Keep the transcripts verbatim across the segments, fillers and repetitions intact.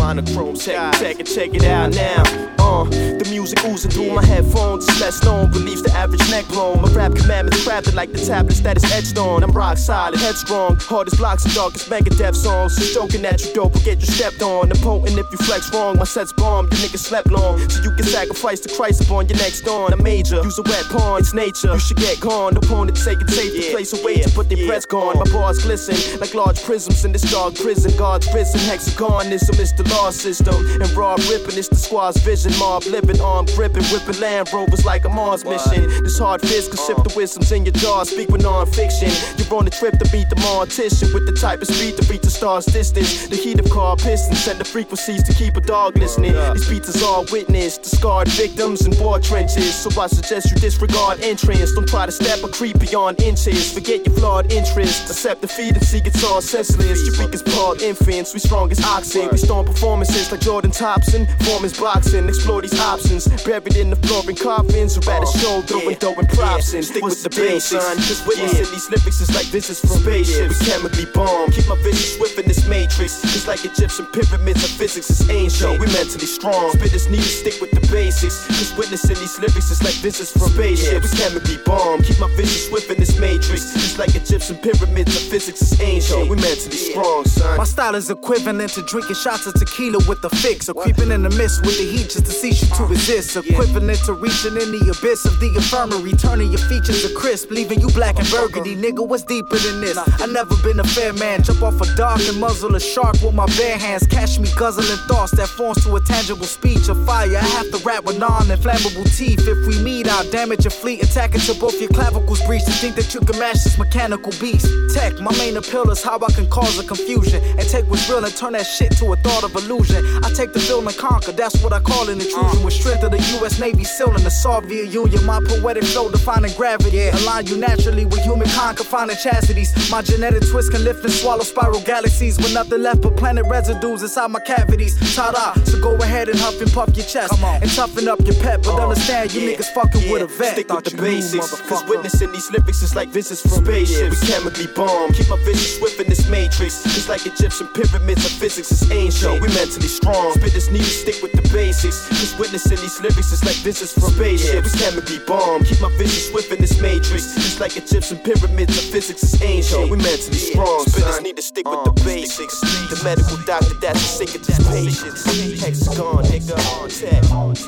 monochrome. Check, check it, check it out now. Uh, the music oozing through my headphones. It's less known, relieves the average neck blown. My rap commandments crafted like the tablets that is etched on. I'm rock solid, headstrong, hardest blocks and darkest Megadeth songs. So joking that you dope will get you stepped on. The potent if you flex wrong. My set's bomb, you niggas slept long. So you can sacrifice the Christ upon your next dawn. I'm major, use a wet pawn, it's nature. You should get gone. The opponent take it safe to place a wager, but their breath's gone. My bars glisten like large prisms in this dark prison. God's prison, hexagonism is the law system. And raw ripping is the squad's vision. Mob living, arm gripping, whipping Land Rovers like a Mars mission. This hard fist can sip the wisdoms in your jaw. Speak with non-fiction. You're on a trip to beat the mortician with the type of speed to reach the star's distance. The heat of car pistons send the frequencies to keep a dog listening. These beats is all witness to scarred victims in war trenches. So I suggest you disregard entrance. Don't try to step or creep beyond inches. Forget your flawed interests. Accept defeat and see it's all senseless. Your weak as bald infants, we strong as oxen. We storm performances like Jordan Thompson. Form is boxing, explore these options. Buried in the floor in coffins, or at a show throwing dough and props in. Stick with the basics, just witnessing these lyrics is like visits from spaceships. We chemically bomb, keep my vision swift in this matrix. It's like Egyptian pyramids of physics is ancient. We mentally strong, spitters need to stick with the basics. Just witnessing these lyrics is like visits from spaceships. We chemically bomb, keep my vision swift in this matrix. It's like Egyptian pyramids of physics is ancient. We mentally strong, son. My style is equivalent to drinking shots of tequila with a fix, or creeping in the mist with the heat just to cease you to resist. Equivalent to reaching in the abyss of the infirmary, turning your features to crisp, leaving you black and burgundy. Nigga, what's deeper than this? I never been a fair man. Jump off a dock and muzzle a shark with my bare hands. Catch me guzzling thoughts that forms to a tangible speech of fire. I have to rap with non-inflammable teeth. If we meet, I'll damage your fleet, attack until both your clavicles breach. To think that you can match this mechanical beast. Tech, my main appeal is how I can cause a confusion and take what's real and turn that shit to a thought of illusion. I take the field and conquer, that's what I call an intrusion. With strength of the U S Navy SEAL in the Soviet Union. My poetic flow defining gravity, align you naturally with humankind confining chastities. My genetic twist can lift and swallow spiral galaxies with nothing left but planet residues inside my cavities. Ta-da, so go ahead and huff and puff your chest and toughen up your pep, but understand you niggas fucking with a vet. Stick with the basics, cause witnessing these lyrics is like visits from spaceships. We chemically bomb, keep my vision swift in this matrix. It's like Egyptian pyramids of physics is ancient. We mentally strong, spitters need to stick with the basics. Cause witnessing these lyrics is like visits from spaceships. We chemically bomb, keep my vision swift in this matrix. It's like Egyptian pyramids of physics is ancient. We mentally strong, spitters need to stick with the basics. The medical doctor that's sick of these patients. Hexagon, nigga, on tech.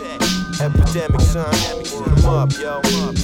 Epidemic, son. Put them up, yo.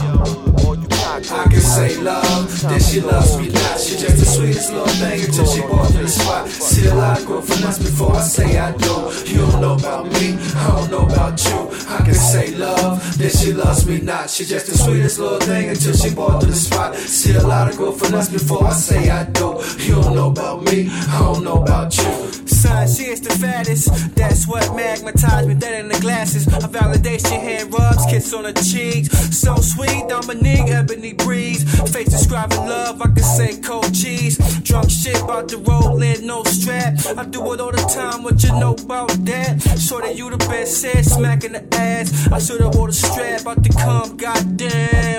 All you I can say love, then she loves me not. She just the sweetest little thing until she walks in the spot. See a lot of growth from us before I say I do. You don't know about me, I don't know about you. I can say love, then she loves me not. She just the sweetest little thing until she walks to the spot. See a lot of growth from us before I say I do. You don't know about me, I don't know about you. Son, she is the fattest. That's what magnetized me dead in the glasses. A validation hand rubs, kiss on the cheeks. So sweet, Dominique, ebony breeze. Face describing love, I can say cold cheese. Drunk shit about to roll in, no strap. I do it all the time, what you know about that? Shorty, you the best said, smacking the ass. I should've wore the strap, about to come, goddamn.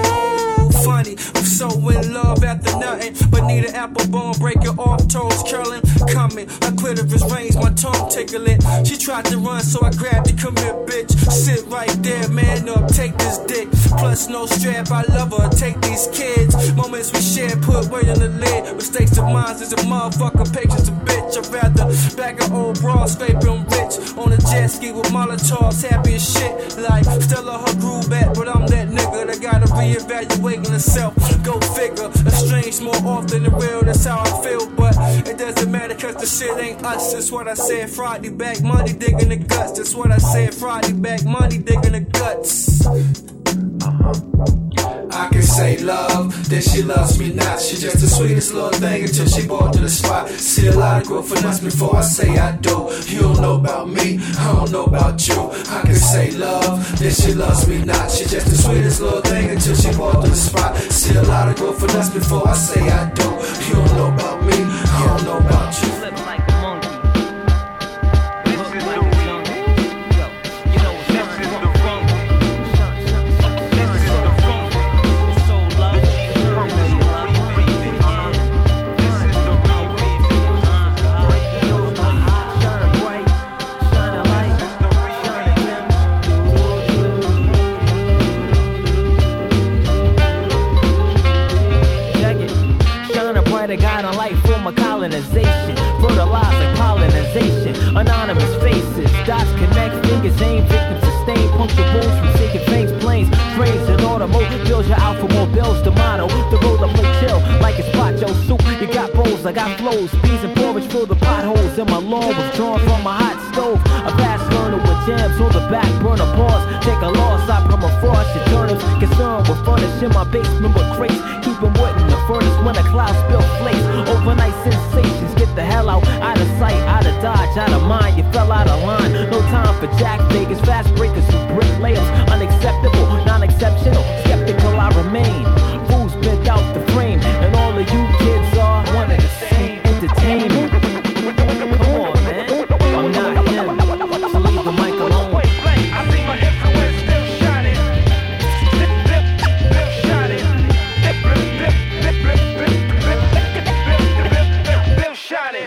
Oh, funny, I'm so in love after nothing. But need an apple bone, break your off, toes curling. Coming, my clitoris range, my tongue tickling. She tried to run, so I grabbed it, come here, bitch. Sit right there, man up, take this dick. Plus no strap, I love her, take these kids. Moments we share, put weight on the lid. Mistakes of mine is a motherfucker, patience a bitch. I'd rather bag an old bra, scrape I'm rich. On a jet ski with Molotovs, happy as shit. Like Stella, her groove back, but I'm that nigga that gotta reevaluate herself. Go figure, estranged more often than real, that's how I feel. But it doesn't matter cause the shit ain't us, that's what I said. Friday back, money digging the guts, that's what I said. Friday back, money digging the guts. I can say love, then she loves me not. She just the sweetest little thing until she brought to the spot. See a lot of growth from us before I say I do. You don't know about me, I don't know about you. I can say love, then she loves me not. She just the sweetest little thing until she brought to the spot. See a lot of growth from us before I say I do. You don't know about me, I don't know about you. Anonymous faces, dots connect, fingers aim, victims sustain, puncture wounds from sinking fangs, planes, trains, and automobiles. You're out for more bills. The motto, the road I play chill like it's Pacho soup. You got bowls, I got flows, peas and porridge fill the potholes in my lawn, withdrawn from my hot stove. A fast learner with jams on the back burner pause. Take a loss, I permafrost your turnips. Concerned with furnishing my basement with crates. Keeping wood in the furnace when the clouds spill flakes. Overnight sensations, get the hell out. Out of sight, out of dodge, out of mind. You fell out of line. No time for jack Vegas, fast breakers who brick layers. Unacceptable, non-exceptional. Skeptical I remain. Fools bent out the frame. And all of you kids are one of the same. Entertainment. Come on, man. I'm not him. So leave the mic alone. I see my influence still shining. Still shining. Still shining.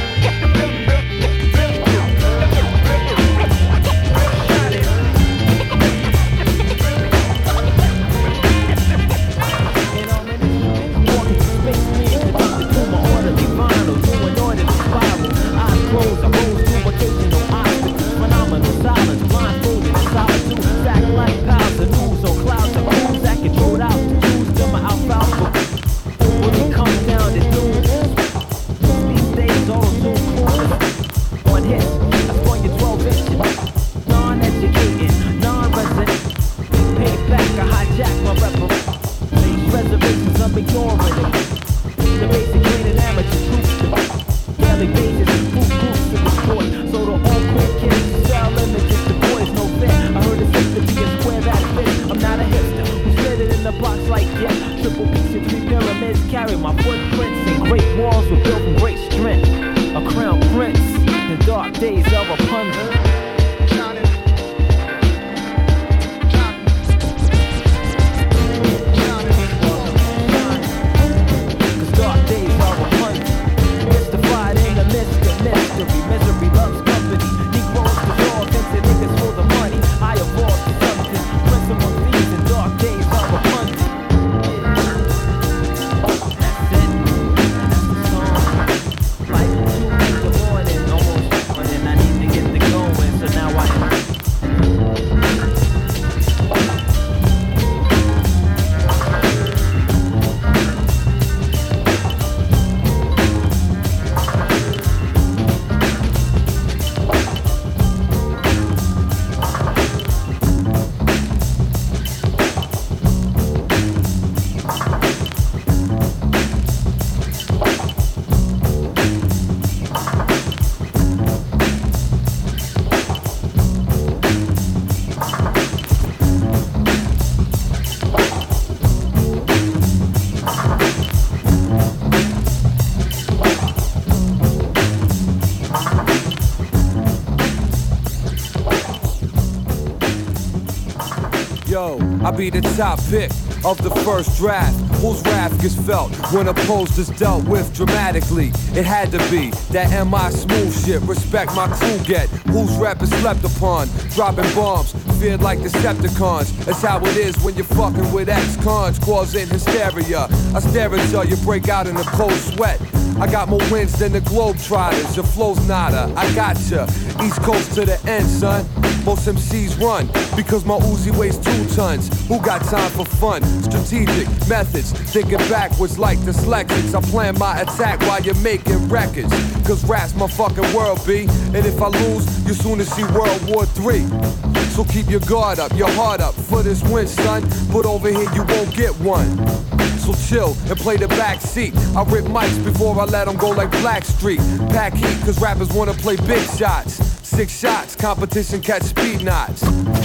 I be the top pick of the first draft. Whose wrath gets felt when opposed is dealt with dramatically? It had to be that M I smooth shit. Respect my crew get. Whose rap is slept upon? Dropping bombs, feared like Decepticons. That's how it is when you're fucking with ex-cons, causing hysteria. I stare until you break out in a cold sweat. I got more wins than the Globetrotters. Your flow's nada, I gotcha. East Coast to the end, son. Most M Cs run because my Uzi weighs two tons. Who got time for fun? Strategic methods, thinking backwards like dyslexics. I plan my attack while you're making records. Cause rap's my fucking world, B. And if I lose, you soon to see World War Three. So keep your guard up, your heart up for this win, son. But over here you won't get one. So chill and play the back seat. I rip mics before I let them go like Blackstreet. Pack heat cause rappers wanna play big shots. Six shots, competition catch speed knots.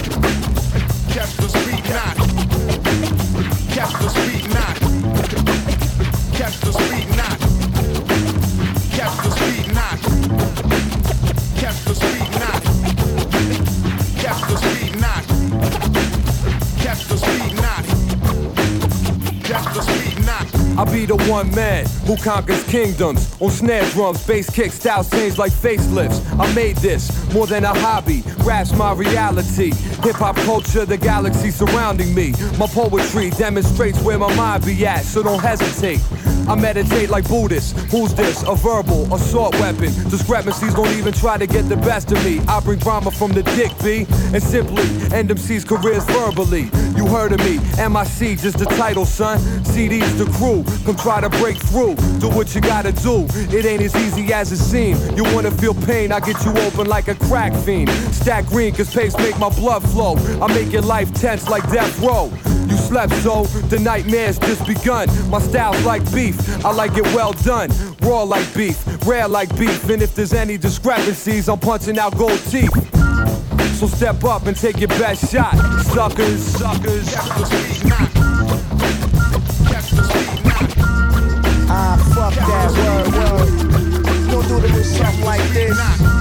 Catch the speed knot. Catch the speed knot. Catch the speed knot. Catch the speed knot. Catch the speed knot. Catch the speed knot. Catch the speed knot. Catch the speed knot. I be the one man who conquers kingdoms. On snare drums, bass kicks, styles change like facelifts. I made this more than a hobby. Rap's my reality. Hip-hop culture, the galaxy surrounding me. My poetry demonstrates where my mind be at, so don't hesitate. I meditate like Buddhists. Who's this? A verbal assault weapon. Discrepancies don't even try to get the best of me. I bring drama from the dick, B, and simply end M C's careers verbally. You heard of me, M I C, just the title, son. C D's the crew, come try to break through. Do what you gotta do, it ain't as easy as it seems. You wanna feel pain, I get you open like a crack fiend. Stack green, cause pace make my blood flow. I make your life tense like death row. You slept, so the nightmare's just begun. My style's like beef, I like it well done. Raw like beef, rare like beef. And if there's any discrepancies, I'm punching out gold teeth. So step up and take your best shot, suckers, suckers. Ah, fuck that word, word. Gonna do it with something like this.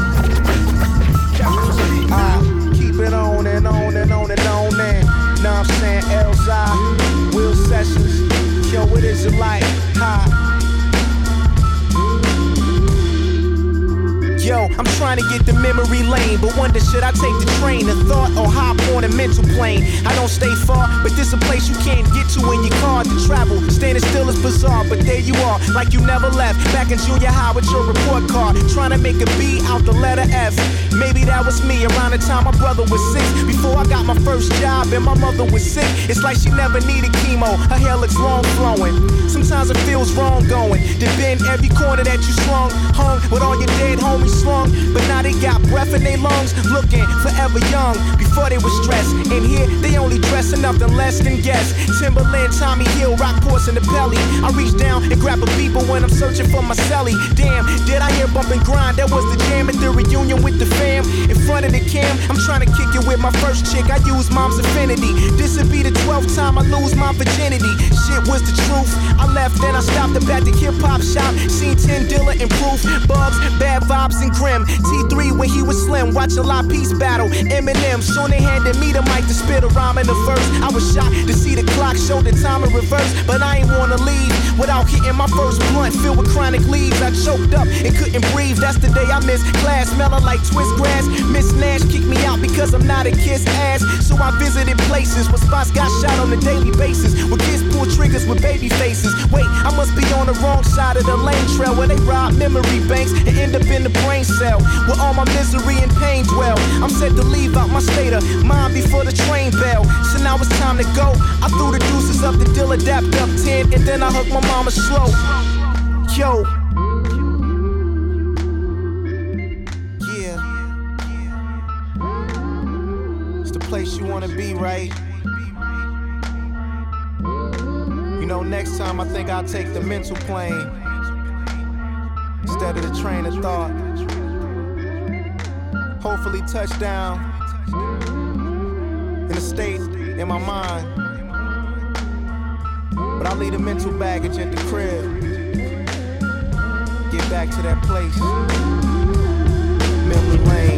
Ah, keep it on and on and on and on and. Know I'm saying Elzai, Will Sessions. Yo, what is it like? Ha. Yo, I'm trying to get the memory lane, but wonder should I take the train, the thought, or hop on a mental plane? I don't stay far, but this a place you can't get to in your car to travel. Standing still is bizarre, but there you are, like you never left. Back in junior high with your report card, trying to make a B out the letter F. Maybe that was me around the time my brother was six. Before I got my first job and my mother was sick. It's like she never needed chemo, her hair looks long flowing. Sometimes it feels wrong going to bend every corner that you swung, hung with all your dead homies slung, but now they got breath in their lungs, looking forever young. Before they was stressed, and here they only dressing nothing less than guests. Timberland, Tommy Hill, Rockports in the belly. I reach down and grab a beeper when I'm searching for my celly. Damn, did I hear bump and grind? That was the jam at the reunion with the fam. In front of the cam, I'm trying to kick it with my first chick. I use mom's affinity. This'll be the twelfth time I lose my virginity. Shit was the truth. I left, then I stopped up at the hip hop shop. Seen ten Dilla and Proof, Bugs, Bad Vibes and Grim. T three when he was slim, watch a lot peace battle. Eminem, soon they handed me the mic to spit a rhyme in the verse. I was shocked to see the clock show the time in reverse, but I ain't wanna leave without hitting my first blunt filled with chronic leaves. I choked up and couldn't breathe. That's the day I missed class, smelling like twist grass. Miss Nash kicked me out because I'm not a kiss ass. So I visited places where spots got shot on a daily basis, where kids pull triggers with baby faces. Wait, I must be on the wrong side of the lane trail where they rob memory banks and end up in the brain cell where all my misery and pain dwell. I'm set to leave out my state of mind before the train bell. So now it's time to go. I threw the deuces up the Dilla, dapped up ten, and then I hugged my mama slow. Yo. Yeah. It's the place you wanna be, right? You know, next time I think I'll take the mental plane instead of the train of thought. Hopefully touchdown in a state in my mind. But I'll leave the mental baggage at the crib. Get back to that place, memory lane.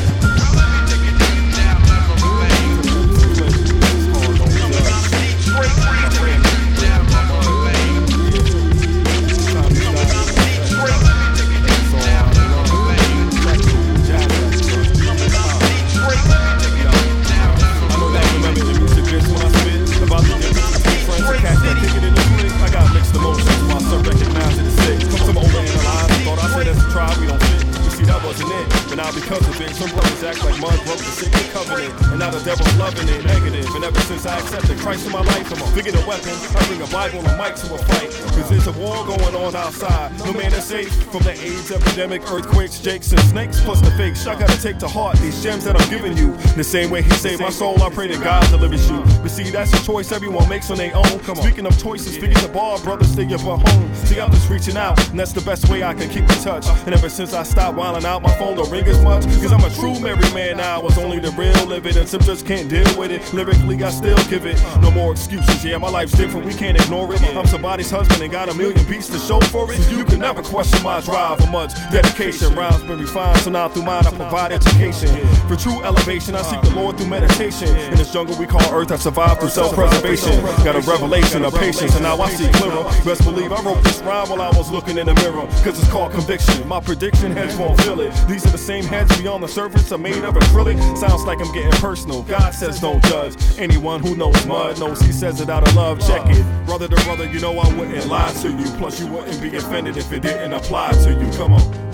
Because of it, some brothers act like mud broke the sick covenant, and now the devil's loving it, negative. And ever since I accepted Christ in my life, I'm a figure a weapon. I bring a Bible and a mic to a fight, cause there's a war going on outside. No man is safe from the AIDS epidemic, earthquakes, jakes, and snakes, plus the fakes. I gotta take to heart these gems that I'm giving you. The same way he saved my soul, I pray that God delivers you. But see, that's a choice everyone makes on their own. Speaking of choices, figure the bar, brothers, stay up at home. See, I'm just reaching out, and that's the best way I can keep in touch. And ever since I stopped wilding out, my phone don't ring as much, cause I'm a true married man now. It's only the real living, and some just can't deal with it. Lyrically, I still give it. No more excuses, yeah, my life's different, we can't ignore it. I'm somebody's husband and got a million beats to show for it. You can never question my drive or much dedication. Rhymes been refined, so now through mine I provide education. For true elevation, I seek the Lord through meditation. In this jungle we call earth, I survive through self-preservation. Got a revelation of patience, and now I see clearer. Best believe I wrote this rhyme while I was looking in the mirror, cause it's called conviction. My prediction, heads won't feel it. it. These are the same heads beyond the surface are made of acrylic. Sounds like I'm getting personal. God says don't judge. Anyone who knows mud knows he says it out of love. Check it. Brother to brother, you know I wouldn't lie to you. Plus you wouldn't be offended if it didn't apply to you. Come on.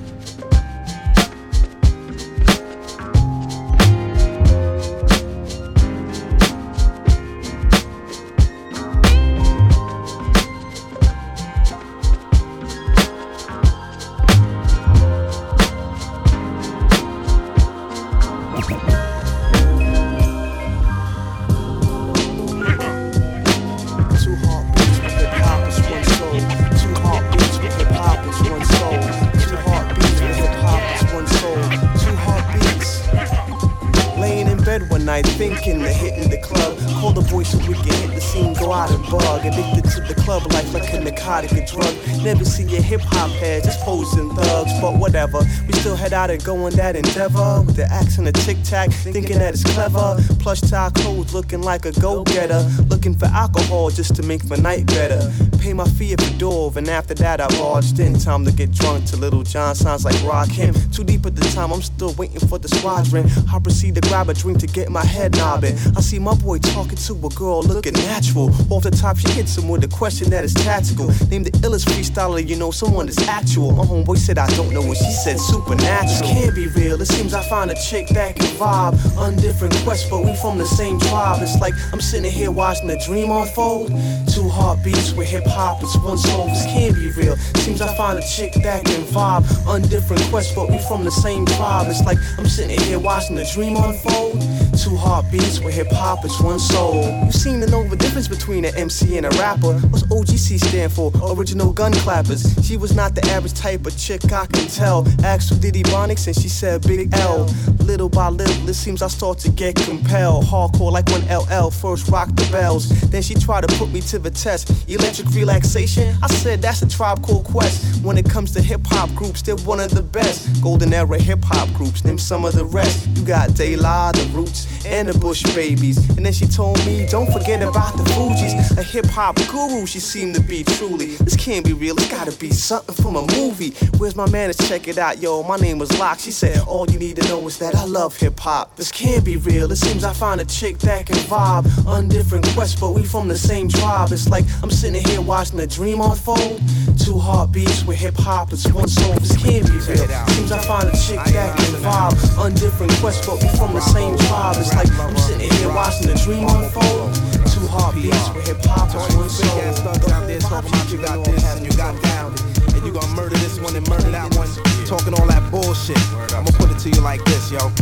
Thinking of hitting the club, call the boys so we can hit the scene, go out and bug. Addicted to the club life like a narcotic, a drug. Never see a hip hop head, just posing thugs, but whatever. We still head out and go on that endeavor with the axe and the tic tac, thinking that it's clever. Plush tie clothes, looking like a go getter, looking for alcohol just to make my night better. Pay my fee at the door, and after that I barged in. Time to get drunk to Little John, sounds like Rakim. Too deep at the time, I'm still waiting for the squadron. I proceed to grab a drink to get my head nobbing. I see my boy talking to a girl looking natural. Off the top, she hits him with a question that is tactical. Name the illest freestyler, you know, someone that's actual. My homeboy said I don't know what she said, supernatural. This can't be real, it seems I find a chick that can vibe. Undifferent quest, but we from the same tribe. It's like I'm sitting here watching a dream unfold. Two heartbeats with hip hop, it's one soul. This can't be real, seems I find a chick that can vibe. Undifferent quest, but we from the same tribe. It's like I'm sitting here watching a dream unfold. Two heartbeats with hip hop, it's one soul. You seem to know the difference between an M C and a rapper. What's O G C stand for? Original gun clappers. She was not the average type of chick, I can tell. Asked who did Ebonics and she said Big L. Little by little, it seems I start to get compelled. Hardcore like when L L first rocked the bells. Then she tried to put me to the test. Electric relaxation? I said that's a Tribe Called Quest. When it comes to hip hop groups, they're one of the best. Golden era hip hop groups, name some of the rest. You got De La, The Roots, and the Bush Babies. And then she told me, don't forget about the Fugees. A hip hop guru she seemed to be truly. This can't be real, it's gotta be something from a movie. Where's my man to check it out? Yo, my name was Locke. She said, all you need to know is that I love hip hop. This can't be real, it seems I find a chick that can vibe. Undifferent quest, but we from the same tribe. It's like I'm sitting here watching a dream unfold. Two heartbeats with hip hop, it's one soul. This can't be real, seems I find a chick that can vibe. Undifferent quest, but we from the same tribe. It's like I'm sitting here watching a dream unfold. Two heartbeats with hip hop, it's one soul. Big ass thugs out there talking about you got this and you got that, and you gonna murder this one and murder that one, talking all that bullshit. I'ma put it to you like this, yo.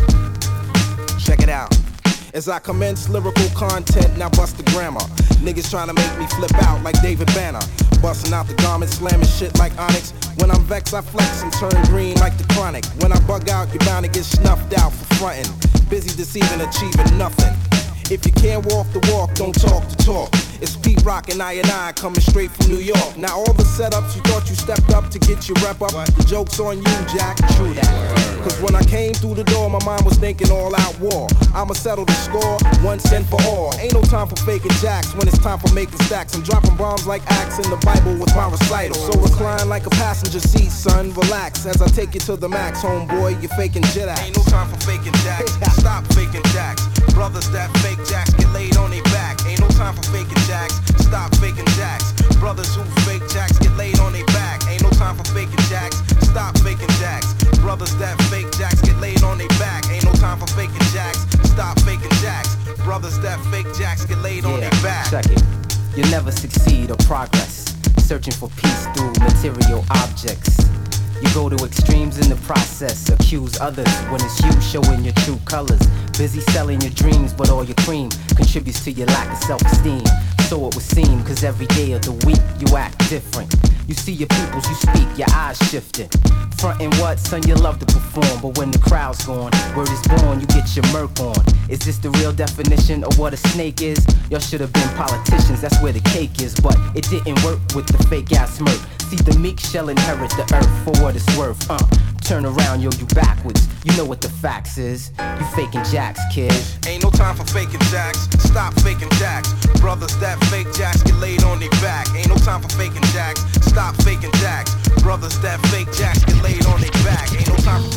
Check it out. As I commence lyrical content, now bust the grammar. Niggas trying to make me flip out like David Banner. Busting out the garments, slamming shit like Onyx. When I'm vexed, I flex and turn green like the Chronic. When I bug out, you're bound to get snuffed out for frontin'. Busy deceiving, achieving nothing. If you can't walk the walk, don't talk the talk. It's Pete Rock and I and I coming straight from New York. Now all the setups you thought you stepped up to get your rep up, the joke's on you, Jack. True that. Cause when I came through the door, my mind was thinking all out war. I'ma settle the score, once and for all. Ain't no time for faking jacks when it's time for making stacks. I'm dropping bombs like Acts in the Bible with my recital. So recline like a passenger seat, son, relax as I take you to the max, homeboy, you're faking jet acts. Ain't no time for faking jacks, stop faking jacks. Brothers that fake jacks get laid on their back. Ain't no time for faking jacks, stop faking jacks. Brothers who fake jacks get laid on their back. Ain't no time for faking jacks, stop faking jacks. Brothers that fake jacks get laid on their back. Ain't no time for faking jacks, stop faking jacks. Brothers that fake jacks get laid yeah, on their back. Check it. You'll never succeed or progress searching for peace through material objects. You go to extremes in the process, accuse others when it's you showing your true colors. Busy selling your dreams, but all your cream contributes to your lack of self-esteem. So it would seem, cause every day of the week you act different. You see your peoples, you speak, your eyes shifting. Frontin' what, son, you love to perform, but when the crowd's gone, word is born, you get your murk on. Is this the real definition of what a snake is? Y'all should have been politicians, that's where the cake is. But it didn't work with the fake ass smirk. See, the meek shall inherit the earth for what it's worth. Uh, turn around, yo, you backwards. You know what the facts is. You faking jacks, kid. Ain't no time for faking jacks. Stop faking jacks. Brothers that fake jacks get laid on their back. Ain't no time for faking jacks. Stop faking jacks. Brothers that fake jacks get laid on their back. Ain't no time for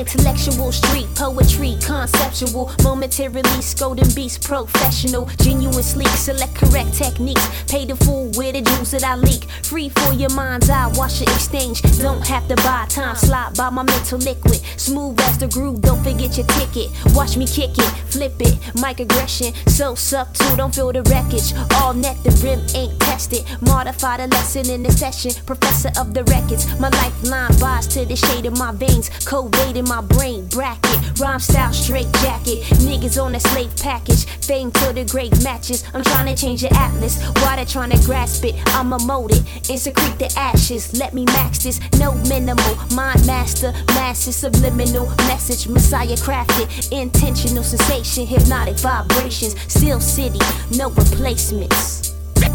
intellectual, street poetry, conceptual, momentarily scolding beats, professional, genuine, sleek, select correct techniques, pay the fool with the juice that I leak, free for your mind's eye, watch the exchange, don't have to buy time, slide by my mental liquid, smooth as the groove, don't forget your ticket, watch me kick it, flip it, mic aggression, so subtle, don't feel the wreckage, all net, the rim ain't tested, modify the lesson in the session, professor of the records, my lifeline buys to the shade of my veins, coded in my brain, bracket, rhyme style, straight jacket, niggas on a slave package, fame till the grave matches, I'm trying to change your atlas, why they trying to grasp it, I'ma mold it, and secrete the ashes, let me max this, no minimal, mind master, massive subliminal, message, messiah crafted, intentional sensation, hypnotic vibrations, still city, no replacements.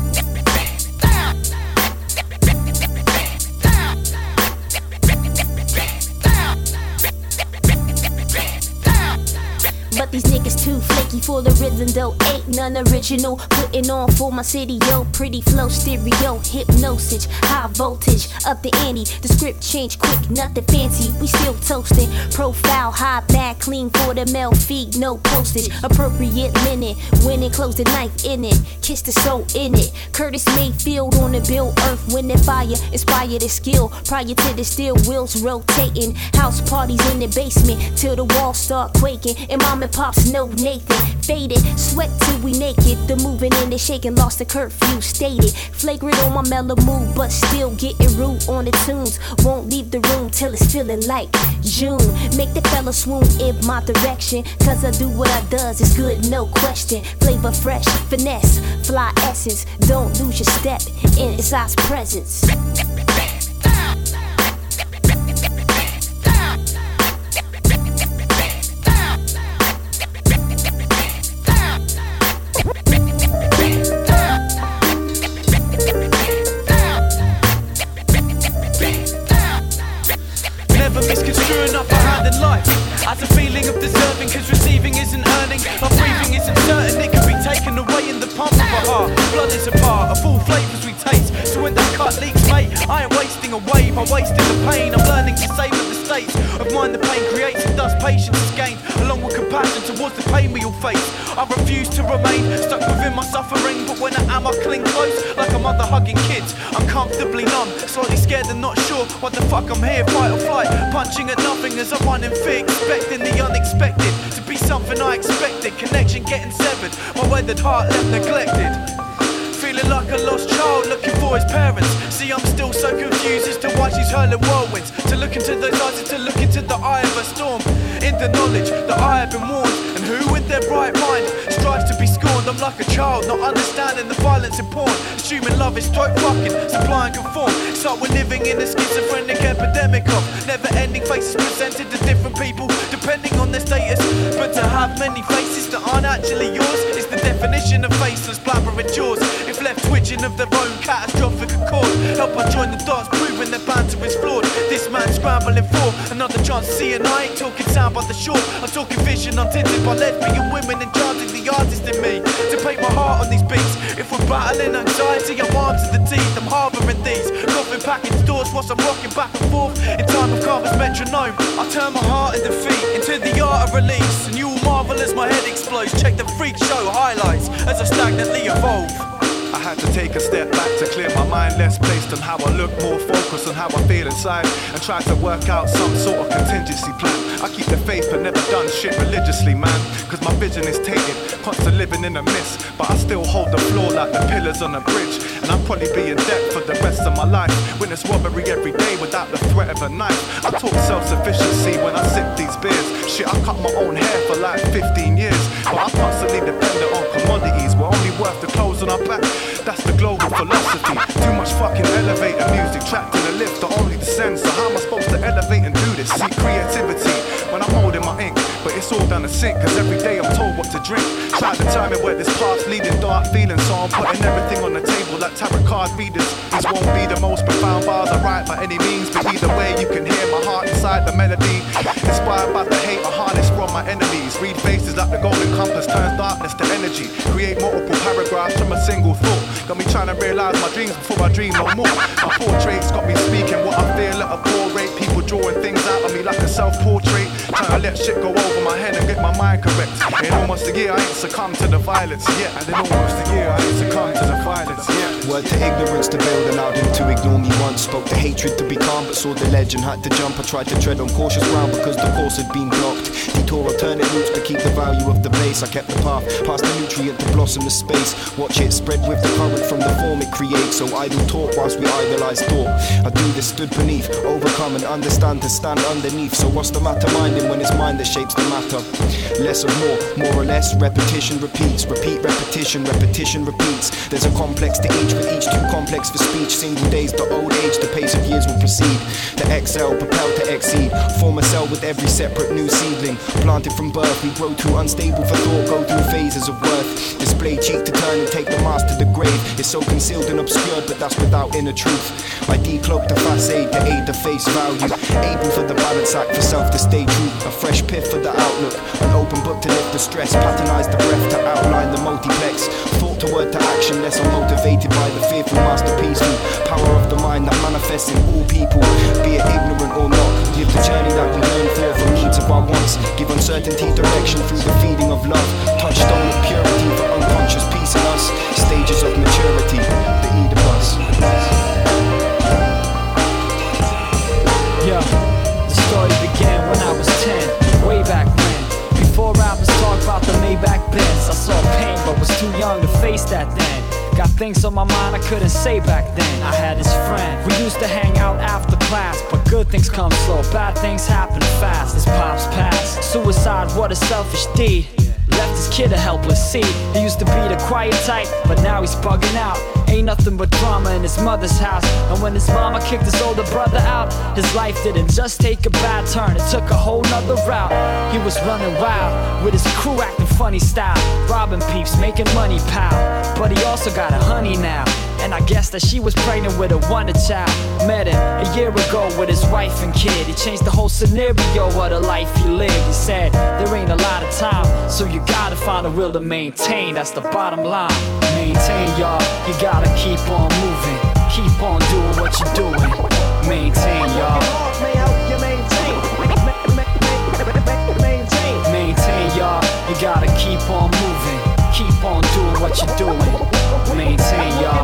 But these niggas too flaky for the rhythm though, ain't none original, putting on for my city, yo, pretty flow, stereo, hypnosis, high voltage, up the ante, the script change quick, nothing fancy, we still toasting, profile, high, bad, clean for the male feed, no postage, appropriate linen, winning, close the knife in it, kiss the soul in it, Curtis Mayfield on the bill, earth, wind and fire, inspire the skill, prior to the steel wheels rotating, house parties in the basement, till the walls start quaking, and mom and pops know Nathan, faded, sweat till we naked, the moving and the shaking, lost the curfew, stated, flagrant on my mellow mood, but still getting rude on the tunes, won't leave the room till it's feeling like June, make the fella swoon in my direction, cause I do what I does, it's good, no question, flavor fresh, finesse, fly essence, don't lose your step in its eyes presence. Misconstruing up behind in life as a feeling of deserving, cause receiving isn't earning, our breathing isn't certain, it can be taken away in the pump of a heart, blood is a part of all flavours we taste, so when that cut leaks, mate, I ain't wasting a wave, I'm wasting the pain, I'm learning to savour the states of mind the pain creates, and thus patience is gained, along with compassion towards the pain we all face, I refuse to remain stuck within my suffering, but when I am I cling close, like a mother hugging kids, I'm comfortably numb, slightly scared and not sure what the fuck I'm here, fight or flight, punching at nothing as I run in fear, expecting the unexpected to be something I expected, connection getting severed, my weathered heart left neglected, feeling like a lost child looking for his parents, see I'm still so confused as to why she's hurling whirlwinds, to look into those eyes is to look into the eye of a storm, in the knowledge that I have been warned, and who in their bright mind strives to be scorned, I'm like a child not understanding the violence in porn, assuming love is stroke fucking, supply and conform, so we're living in a schizophrenic epidemic of never-ending faces presented to different people depending on their status, but to have many faces that aren't actually yours is the definition of faceless blabbering jaws, if left twitching of their own catastrophic accord, help I join the dots proving their banter is flawed, this man scrambling for another chance to see, and I ain't talking sound by the shore, I'm talking vision untinted by lesbian women enchanting the artist in me, to paint my heart on these beats, if we're battling anxiety I'm armed to the teeth, I'm harbouring these, coughing package doors whilst I'm rocking back and forth, in time of Carver's metronome, I turn my heart and defeat into the art of release, and you will marvel as my head explodes, check the freak show highlights as I stagnantly evolve. I had to take a step back to clear my mind, less placed on how I look, more focused on how I feel inside, and try to work out some sort of contingency plan. I keep the faith but never done shit religiously, man, cause my vision is tainted, constant living in a mist, but I still hold the floor like the pillars on a bridge, and I'll probably be in debt for the rest of my life, witness robbery every day without the threat of a knife. I talk self-sufficiency when I sip these beers, shit I cut my own hair for like fifteen years, but I'm constantly dependent on commodities, we're only worth the clothes on our back. That's the global philosophy. Too much fucking elevator music trapped in a lift that only descends. So how am I supposed to elevate and do this? See creativity when I'm holding my ink, but it's all down the sink, cause every day I'm told what to drink. Try to determine where this path's leading, dark feelings, so I'm putting everything on the table like tarot card readers. These won't be the most profound bars I write by any means, but either way you can hear my heart inside the melody. Inspired by the hate I harness from my enemies. Read faces like the golden compass turns darkness to energy. Create multiple paragraphs from a single thought. Got me trying to realise my dreams before I dream no more. My portraits got me speaking what I feel at a poor rate. People drawing things out of me like a self-portrait. Trying to let shit go over my head and get my mind correct. In almost a year I ain't succumbed to the violence yet. And in almost a year I ain't succumbed to the violence yet. Word to ignorance to build, allowed him to ignore me once. Spoke to hatred to be calm, but saw the ledge and had to jump. I tried to tread on cautious ground because the course had been blocked. Detour alternate routes to keep the value of the place. I kept the path past the nutrient to blossom the space. Watch it spread with the current from the form it creates. So idle talk whilst we idolize thought. I do this stood beneath, overcome and understand to stand underneath. So what's the matter minding when it's mind that shapes the matter? Less of more, more or less, repetition repeats. Repeat, repetition, repetition repeats. There's a complex to each, with each too complex for speech. Single days, the old age, the pace of years will proceed. To excel, propel to exceed. Form a cell with every separate new seedling. Planted from birth, we grow too unstable for thought. Go through phases of worth. Display cheek to turn and take the mask to the grave. It's so concealed and obscured, but that's without inner truth. I decloak the facade to aid the face value. Able for the balance act, for self to stay true. A fresh piff for the outlook. An open book to lift the stress. Patternize the breath to outline the multiplex. Thought to word to action, less unmotivated by the fearful masterpiece. Power of the mind that manifests in all people. Be it ignorant or not. Live the journey that we learn for from needs of our wants. Give uncertainty direction through the feeding of love. Touchstone of purity for unconscious peace in us. Stages of maturity, the Oedipus. Yeah, the story began when I was ten, way back when. Before rappers talk about the Maybach Benz, I saw pain but was too young to face that then. Got things on my mind I couldn't say back then. I had this friend, we used to hang out after class, but good things come slow, bad things happen fast. His pops passed, suicide, what a selfish deed. Left his kid a helpless seed. He used to be the quiet type, but now he's bugging out. Ain't nothing but drama in his mother's house. And when his mama kicked his older brother out, his life didn't just take a bad turn, it took a whole nother route. He was running wild, with his crew acting funny style, robbing peeps, making money pal. But he also got a honey now, and I guess that she was pregnant with a wonder child. Met him a year ago with his wife and kid. He changed the whole scenario of the life he lived. He said, there ain't a lot of time, so you gotta find a will to maintain. That's the bottom line. Maintain, y'all, you gotta keep on moving. Keep on doing what you're doing. Maintain, y'all. Maintain, y'all, you gotta keep on moving. Keep on doing what you're doing. Maintain, y'all.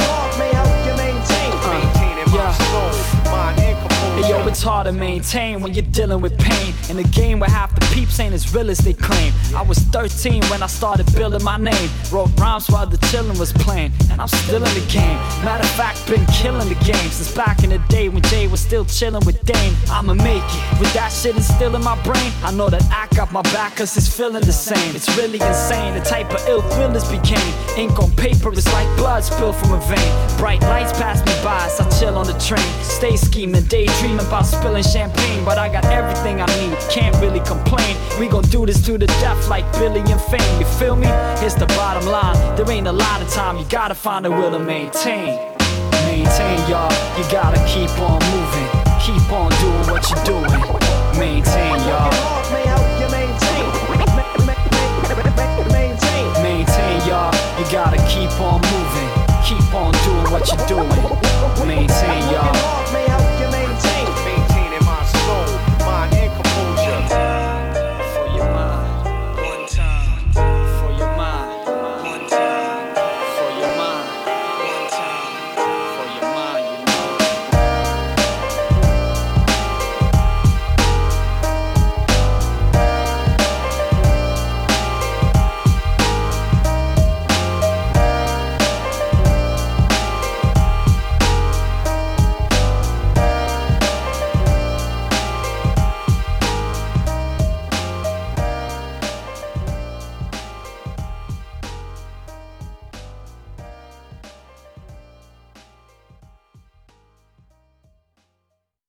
Uh, yeah. Hey, yo, it's hard to maintain when you're dealing with pain in a game where half the peeps ain't as real as they claim. I was thirteen when I started building my name. Wrote rhymes while the chillin' was playing, and I'm still in the game. Matter of fact, been killing the game since back in the day when Jay was still chillin' with Dame. I'ma make it with that shit and still in my brain. I know that I got my back cause it's feeling the same. It's really insane the type of ill thrillers became. Ink on paper is like blood spilled from a vein. Bright lights pass me by as I chill on the train. Stay scheming, daydreaming about spilling champagne, but I got everything I need, can't really complain. We gon' do this to the death like Billy and Fame, you feel me? Here's the bottom line, there ain't a lot of time, you gotta find a will to maintain. Maintain, y'all, you gotta keep on moving. Keep on doing what you're doing. Maintain, y'all.